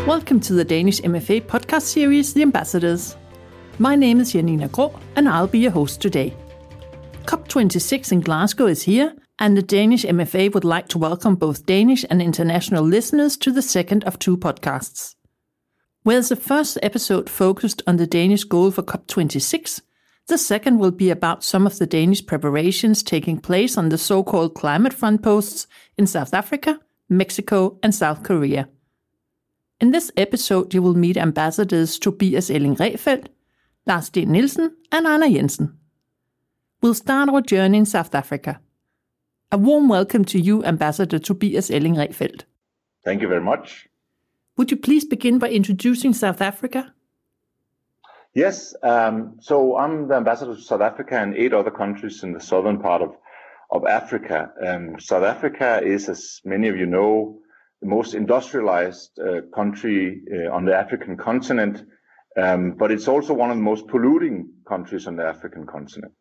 Welcome to the Danish MFA podcast series, The Ambassadors. My name is Janina Grå, and I'll be your host today. COP26 in Glasgow is here, and the Danish MFA would like to welcome both Danish and international listeners to the second of two podcasts. Whereas the first episode focused on the Danish goal for COP26, the second will be about some of the Danish preparations taking place on the so-called climate front posts in South Africa, Mexico, and South Korea. In this episode, you will meet ambassadors Tobias Elling-Rehfeldt, Lars Steen Nielsen, and Anna Jensen. We'll start our journey in South Africa. A warm welcome to you, Ambassador Tobias Elling-Rehfeldt. Thank you very much. Would you please begin by introducing South Africa? Yes, so I'm the ambassador to South Africa and 8 other countries in the southern part of Africa. South Africa is, as many of you know, the most industrialized country on the African continent, but it's also one of the most polluting countries on the African continent.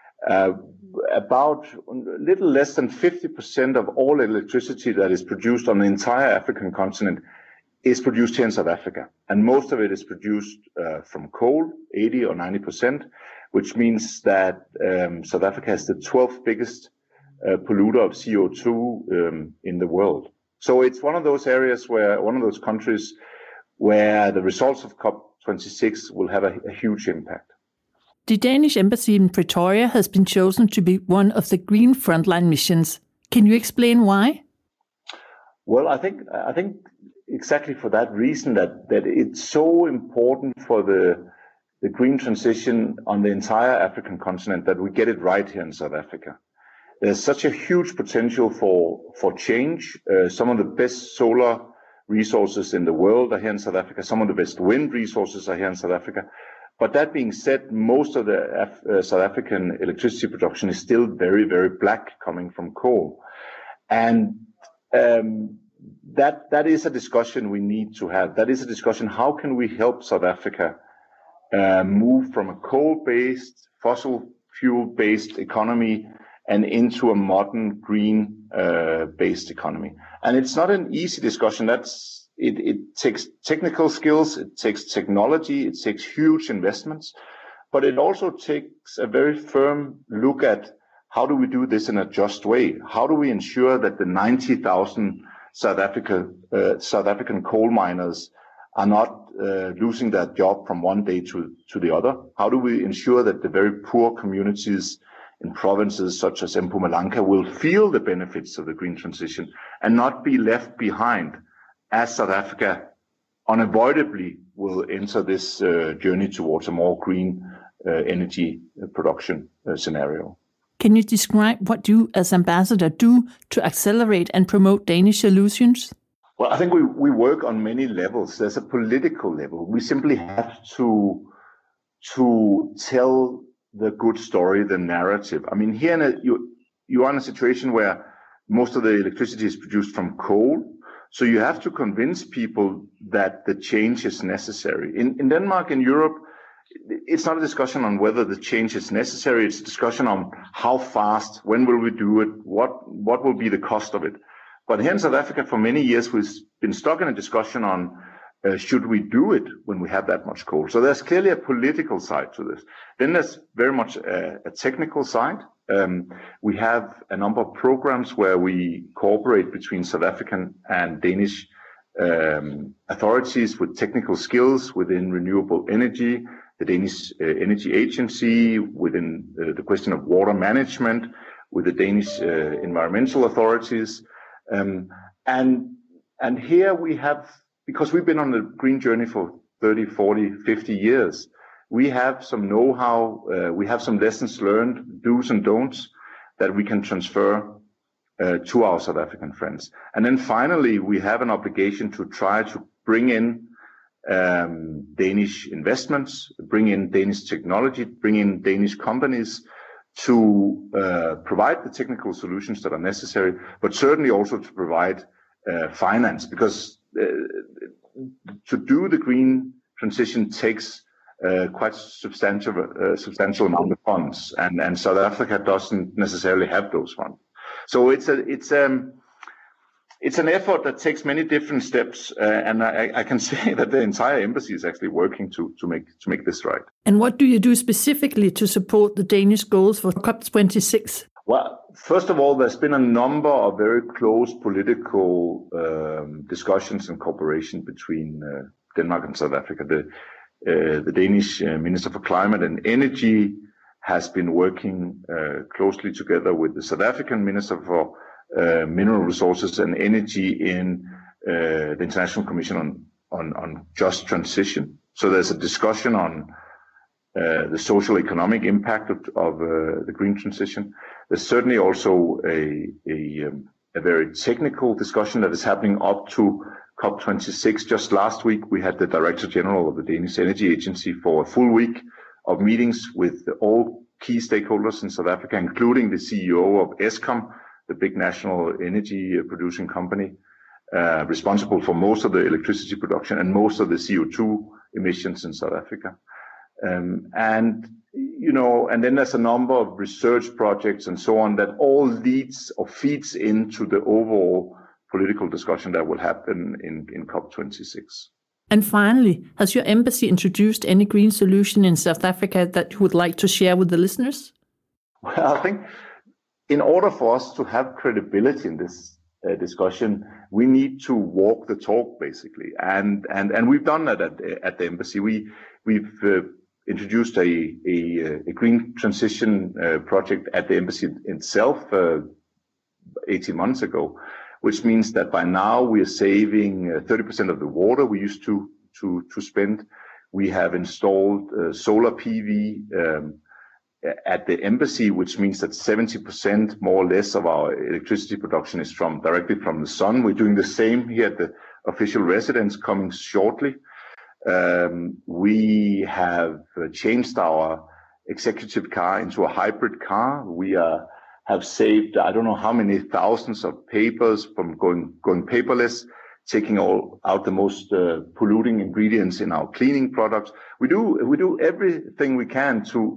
About a little less than 50% of all electricity that is produced on the entire African continent is produced here in South Africa. And most of it is produced from coal, 80 or 90%, which means that South Africa is the 12th biggest polluter of CO2 in the world. So it's one of those areas one of those countries where the results of COP26 will have a huge impact. The Danish embassy in Pretoria has been chosen to be one of the Green Frontline missions. Can you explain why? Well, I think exactly for that reason that it's so important for the green transition on the entire African continent that we get it right here in South Africa. There's such a huge potential for change. Some of the best solar resources in the world are here in South Africa. Some of the best wind resources are here in South Africa. But that being said, most of the South African electricity production is still very, very black, coming from coal. And that is a discussion we need to have. That is a discussion, how can we help South Africa move from a coal-based, fossil fuel-based economy and into a modern green-based economy? And it's not an easy discussion. It takes technical skills, it takes technology, it takes huge investments, but it also takes a very firm look at how do we do this in a just way? How do we ensure that the 90,000 South African coal miners are not losing their job from one day to the other? How do we ensure that the very poor communities in provinces such as Mpumalanga will feel the benefits of the green transition and not be left behind, as South Africa unavoidably will enter this journey towards a more green energy production scenario? Can you describe what you as ambassador do to accelerate and promote Danish solutions? Well, I think we work on many levels. There's a political level. We simply have to tell the good story, the narrative. I mean, here you are in a situation where most of the electricity is produced from coal. So you have to convince people that the change is necessary. In Denmark, in Europe, it's not a discussion on whether the change is necessary. It's a discussion on how fast, when will we do it, what will be the cost of it. But here in South Africa, for many years, we've been stuck in a discussion on should we do it when we have that much coal. So there's clearly a political side to this. Then there's very much a technical side. We have a number of programs where we cooperate between South African and Danish authorities with technical skills within renewable energy, the Danish Energy Agency, within the question of water management, with the Danish environmental authorities. And here we have, because we've been on the green journey for 30, 40, 50 years, we have some know-how, we have some lessons learned, do's and don'ts that we can transfer to our South African friends. And then finally, we have an obligation to try to bring in Danish investments, bring in Danish technology, bring in Danish companies to provide the technical solutions that are necessary, but certainly also to provide finance, because to do the green transition takes quite substantial amount of funds, and South Africa doesn't necessarily have those funds. So it's an effort that takes many different steps, and I can say that the entire embassy is actually working to make this right. And what do you do specifically to support the Danish goals for COP26? Well, first of all, there's been a number of very close political discussions and cooperation between Denmark and South Africa. The Danish Minister for Climate and Energy has been working closely together with the South African Minister for Mineral Resources and Energy in the International Commission on Just Transition. So there's a discussion on the social economic impact of the green transition. There's certainly also a very technical discussion that is happening up to COP26. Just last week, we had the Director General of the Danish Energy Agency for a full week of meetings with all key stakeholders in South Africa, including the CEO of Eskom, the big national energy producing company, responsible for most of the electricity production and most of the CO2 emissions in South Africa. And then there's a number of research projects and so on that all leads or feeds into the overall political discussion that will happen in COP26. And finally, has your embassy introduced any green solution in South Africa that you would like to share with the listeners? Well, I think in order for us to have credibility in this discussion, we need to walk the talk, basically. And we've done that at the embassy. We've introduced a green transition project at the embassy itself 18 months ago, which means that by now we are saving 30% of the water we used to spend. We have installed solar PV at the embassy, which means that 70% more or less of our electricity production is directly from the sun. We're doing the same here at the official residence coming shortly. We have changed our executive car into a hybrid car. We have saved, I don't know how many thousands of papers from going paperless, taking out the most polluting ingredients in our cleaning products. We do everything we can to,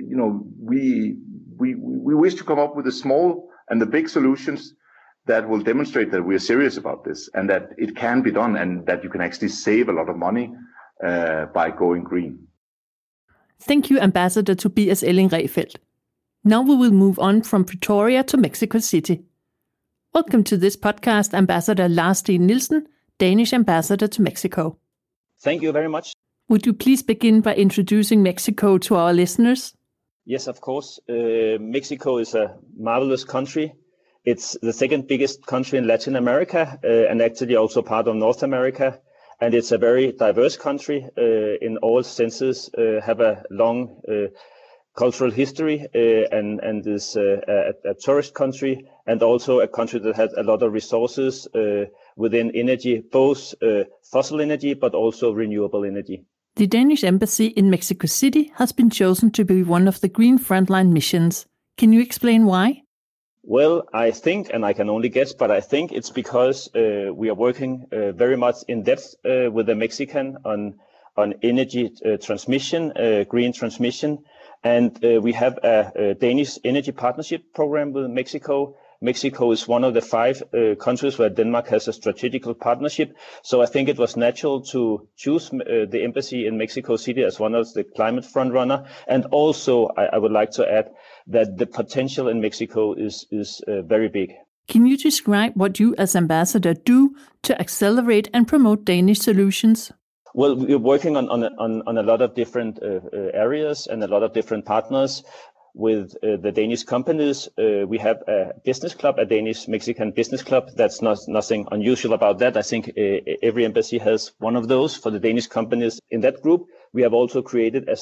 we wish to come up with the small and the big solutions that will demonstrate that we are serious about this and that it can be done and that you can actually save a lot of money by going green. Thank you, Ambassador Tobias Elling-Rehfeldt. Now we will move on from Pretoria to Mexico City. Welcome to this podcast, Ambassador Lars Steen Nielsen, Danish Ambassador to Mexico. Thank you very much. Would you please begin by introducing Mexico to our listeners? Yes, of course. Mexico is a marvelous country. It's the second biggest country in Latin America and actually also part of North America. And it's a very diverse country in all senses, have a long cultural history and is a tourist country and also a country that has a lot of resources within energy, both fossil energy but also renewable energy. The Danish embassy in Mexico City has been chosen to be one of the Green Frontline missions. Can you explain why? Well, I think, and I can only guess, but I think it's because we are working very much in depth with the Mexican on energy transmission, green transmission. And we have a Danish energy partnership program with Mexico. Mexico is one of the 5 countries where Denmark has a strategical partnership. So I think it was natural to choose the embassy in Mexico City as one of the climate frontrunner. And also, I would like to add that the potential in Mexico is very big. Can you describe what you as ambassador do to accelerate and promote Danish solutions? Well, we're working on a lot of different areas and a lot of different partners with the Danish companies. We have a business club, a Danish-Mexican business club. That's nothing unusual about that. I think every embassy has one of those for the Danish companies. In that group, we have also created a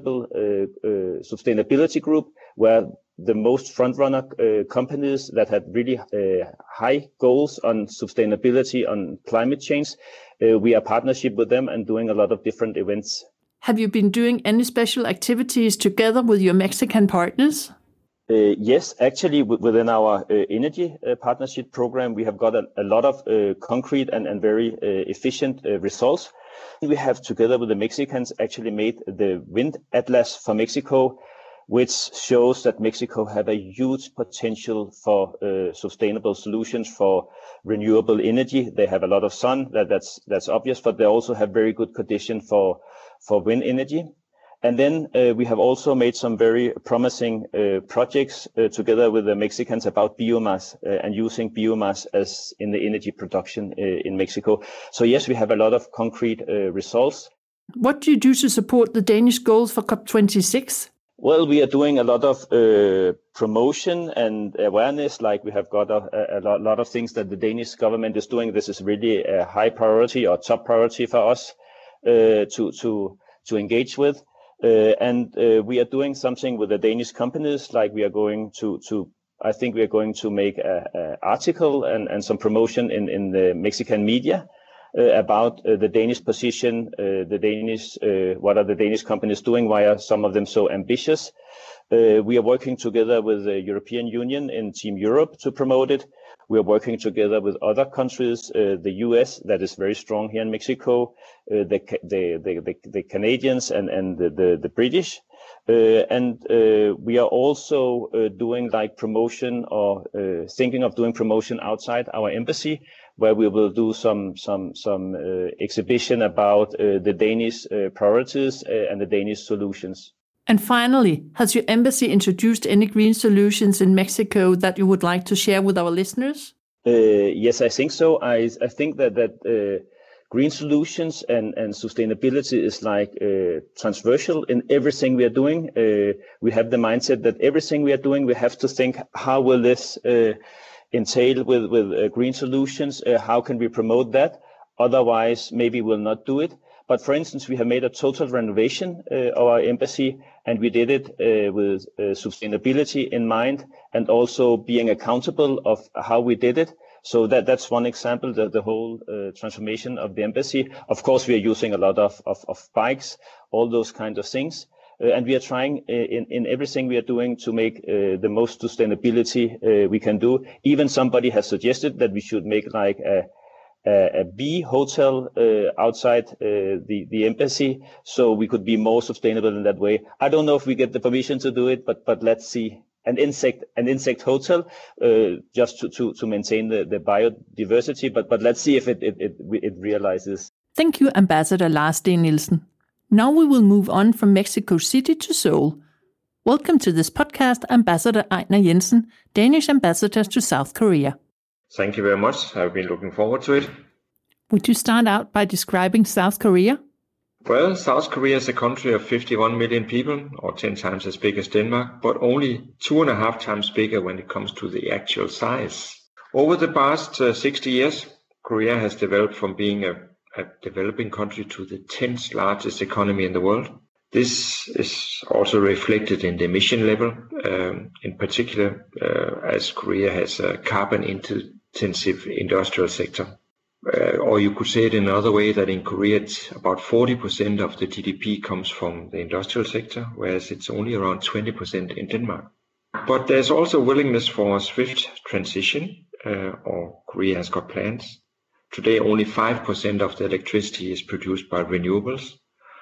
sustainability group where the most front-runner companies that had really high goals on sustainability, on climate change, we are partnership with them and doing a lot of different events. Have you been doing any special activities together with your Mexican partners? Yes, actually, within our energy partnership program, we have got a lot of concrete and very efficient results. We have, together with the Mexicans, actually made the Wind Atlas for Mexico, which shows that Mexico have a huge potential for sustainable solutions for renewable energy. They have a lot of sun, that's obvious, but they also have very good condition for wind energy. And then we have also made some very promising projects together with the Mexicans about biomass and using biomass as in the energy production in Mexico. So yes, we have a lot of concrete results. What do you do to support the Danish goals for COP26? Well, we are doing a lot of promotion and awareness. Like we have got a lot of things that the Danish government is doing. This is really a high priority or top priority for us to engage with. And we are doing something with the Danish companies, like we are going I think we are going to make an article and some promotion in the Mexican media about the Danish position, what are the Danish companies doing, why are some of them so ambitious. We are working together with the European Union in Team Europe to promote it. We are working together with other countries, the US, that is very strong here in Mexico, the Canadians and the British. And we are also doing like promotion or thinking of doing promotion outside our embassy, where we will do some exhibition about the Danish priorities and the Danish solutions. And finally, has your embassy introduced any green solutions in Mexico that you would like to share with our listeners? Yes, I think so. I think that green solutions and sustainability is like transversal in everything we are doing. We have the mindset that everything we are doing, we have to think, how will this entail with green solutions? How can we promote that? Otherwise, maybe we'll not do it. But for instance, we have made a total renovation of our embassy, and we did it with sustainability in mind and also being accountable of how we did it. So that's one example, the whole transformation of the embassy. Of course, we are using a lot of bikes, all those kinds of things. And we are trying in everything we are doing to make the most sustainability we can do. Even somebody has suggested that we should make like a bee hotel outside the embassy, so we could be more sustainable in that way. I don't know if we get the permission to do it, but let's see. An insect hotel, just to maintain the biodiversity. But let's see if it realizes. Thank you, Ambassador Lars Steen Nielsen. Now we will move on from Mexico City to Seoul. Welcome to this podcast, Ambassador Ejnar Jensen, Danish Ambassador to South Korea. Thank you very much. I've been looking forward to it. Would you start out by describing South Korea? Well, South Korea is a country of 51 million people, or 10 times as big as Denmark, but only 2.5 times bigger when it comes to the actual size. Over the past 60 years, Korea has developed from being a developing country to the 10th largest economy in the world. This is also reflected in the emission level, in particular as Korea has a carbon-intensive industrial sector. Or you could say it in another way, that in Korea it's about 40% of the GDP comes from the industrial sector, whereas it's only around 20% in Denmark. But there's also willingness for a swift transition, or Korea has got plans. Today only 5% of the electricity is produced by renewables,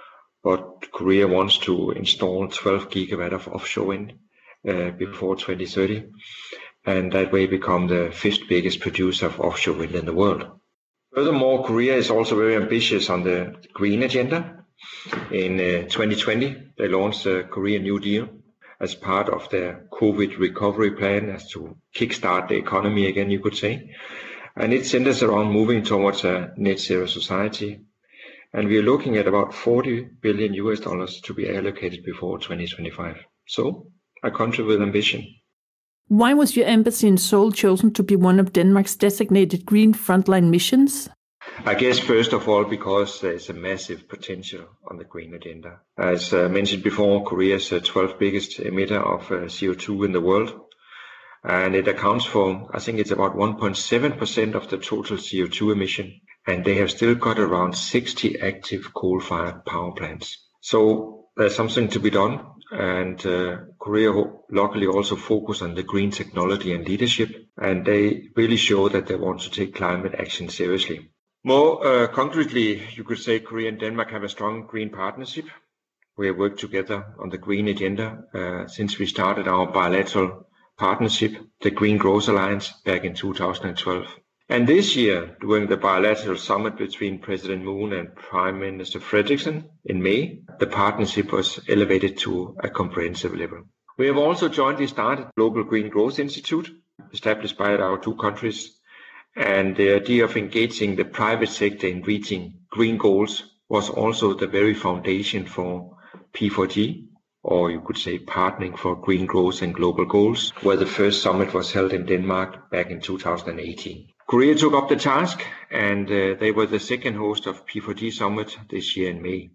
but Korea wants to install 12 gigawatt of offshore wind before 2030, and that way become the 5th biggest producer of offshore wind in the world. Furthermore, Korea is also very ambitious on the green agenda. In 2020, they launched the Korean New Deal as part of their COVID recovery plan, as to kickstart the economy again, you could say. And it centers around moving towards a net zero society. And we are looking at about $40 billion to be allocated before 2025. So, a country with ambition. Why was your embassy in Seoul chosen to be one of Denmark's designated green frontline missions? I guess first of all because there is a massive potential on the green agenda. As mentioned before, Korea is the 12th biggest emitter of CO2 in the world. And it accounts for, I think it's about 1.7% of the total CO2 emission. And they have still got around 60 active coal-fired power plants. So there's something to be done. And Korea luckily also focus on the green technology and leadership, and they really show that they want to take climate action seriously. More concretely, you could say Korea and Denmark have a strong green partnership. We have worked together on the green agenda since we started our bilateral partnership, the Green Growth Alliance, back in 2012. And this year, during the bilateral summit between President Moon and Prime Minister Frederiksen in May, the partnership was elevated to a comprehensive level. We have also jointly started Global Green Growth Institute, established by our two countries, and the idea of engaging the private sector in reaching green goals was also the very foundation for P4G, or you could say Partnering for Green Growth and Global Goals, where the first summit was held in Denmark back in 2018. Korea took up the task, and they were the second host of P4G Summit this year in May.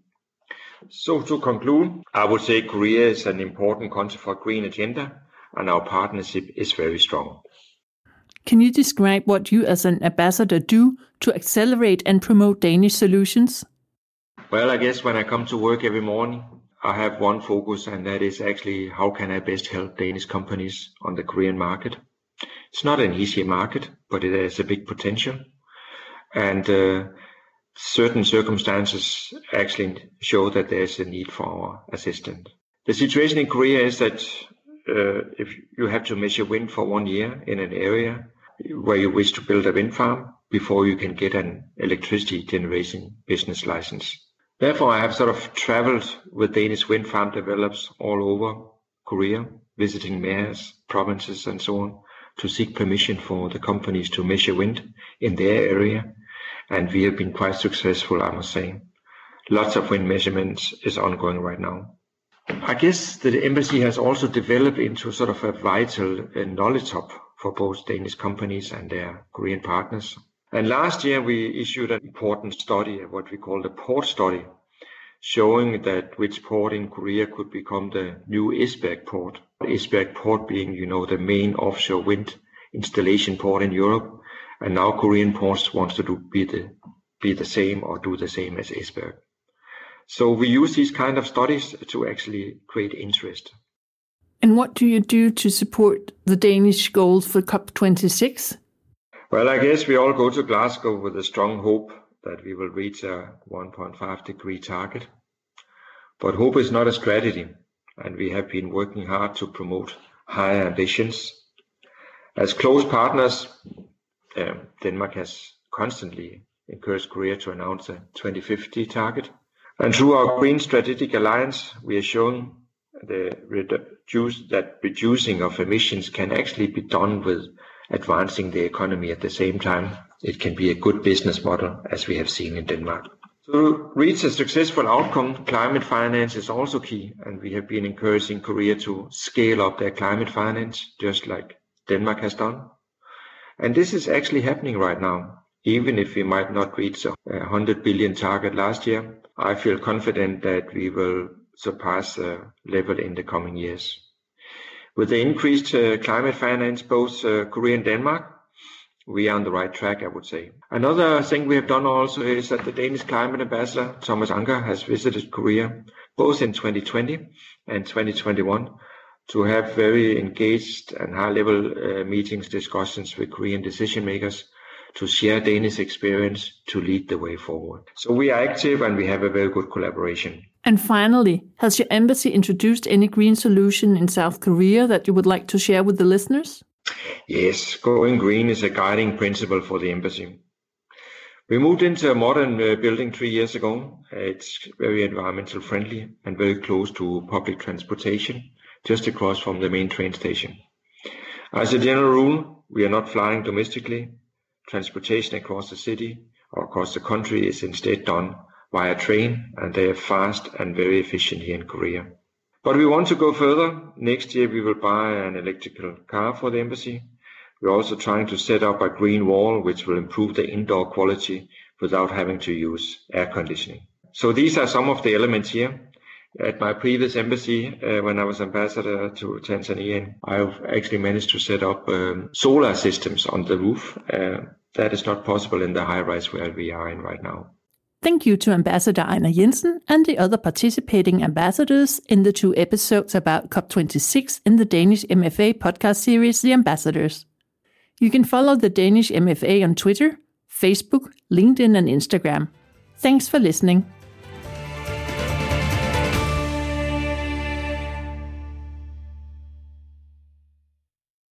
So to conclude, I would say Korea is an important country for green agenda, and our partnership is very strong. Can you describe what you as an ambassador do to accelerate and promote Danish solutions? Well, I guess when I come to work every morning, I have one focus, and that is actually how can I best help Danish companies on the Korean market. It's not an easy market, but it has a big potential. And certain circumstances actually show that there's a need for our assistance. The situation in Korea is that if you have to measure wind for 1 year in an area where you wish to build a wind farm before you can get an electricity generation business license. Therefore, I have sort of traveled with Danish wind farm developers all over Korea, visiting mayors, provinces and so on, to seek permission for the companies to measure wind in their area. And we have been quite successful, I must say. Lots of wind measurements is ongoing right now. I guess the embassy has also developed into sort of a vital knowledge hub for both Danish companies and their Korean partners. And last year we issued an important study, what we call the port study, showing that which port in Korea could become the new Esbjerg port. Esbjerg port being, the main offshore wind installation port in Europe. And now Korean ports wants to be the same or do the same as Esbjerg. So we use these kind of studies to actually create interest. And what do you do to support the Danish goals for COP26? Well, I guess we all go to Glasgow with a strong hope that we will reach a 1.5 degree target. But hope is not a strategy, and we have been working hard to promote higher ambitions. As close partners, Denmark has constantly encouraged Korea to announce a 2050 target. And through our Green Strategic Alliance, we are showing that reducing of emissions can actually be done with advancing the economy at the same time. It can be a good business model, as we have seen in Denmark. To reach a successful outcome, climate finance is also key, and we have been encouraging Korea to scale up their climate finance, just like Denmark has done. And this is actually happening right now. Even if we might not reach a 100 billion target last year, I feel confident that we will surpass the level in the coming years. With the increased climate finance, both Korea and Denmark, we are on the right track, I would say. Another thing we have done also is that the Danish climate ambassador, Thomas Anker, has visited Korea, both in 2020 and 2021, to have very engaged and high-level meetings, discussions with Korean decision makers to share Danish experience to lead the way forward. So we are active and we have a very good collaboration. And finally, has your embassy introduced any green solution in South Korea that you would like to share with the listeners? Yes, going green is a guiding principle for the embassy. We moved into a modern building 3 years ago. It's very environmental friendly and very close to public transportation, just across from the main train station. As a general rule, we are not flying domestically. Transportation across the city or across the country is instead done via train, and they are fast and very efficient here in Korea. But we want to go further. Next year we will buy an electrical car for the embassy. We're also trying to set up a green wall which will improve the indoor quality without having to use air conditioning. So these are some of the elements here. At my previous embassy, when I was ambassador to Tanzania, I've actually managed to set up solar systems on the roof. That is not possible in the high-rise where we are in right now. Thank you to Ambassador Einar Jensen and the other participating ambassadors in the 2 episodes about COP26 in the Danish MFA podcast series, The Ambassadors. You can follow the Danish MFA on Twitter, Facebook, LinkedIn and Instagram. Thanks for listening.